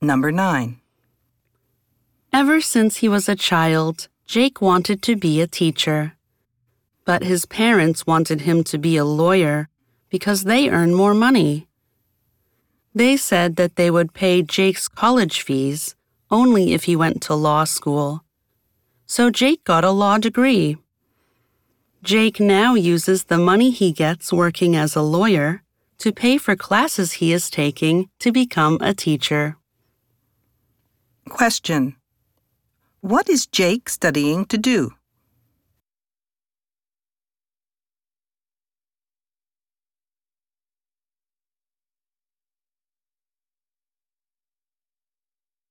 Number 9. Ever since he was a child, Jake wanted to be a teacher. But his parents wanted him to be a lawyer because they earn more money. They said that they would pay Jake's college fees only if he went to law school. So Jake got a law degree. Jake now uses the money he gets working as a lawyer to pay for classes he is taking to become a teacher. Question. What is Jake studying to do?